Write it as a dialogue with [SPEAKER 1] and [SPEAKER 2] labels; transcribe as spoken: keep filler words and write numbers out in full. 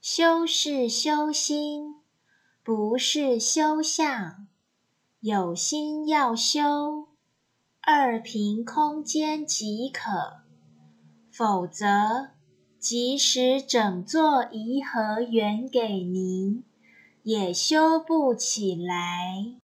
[SPEAKER 1] 修是修心，不是修相。有心要修，二平空间即可，否则即使整座颐和园给您，也修不起来。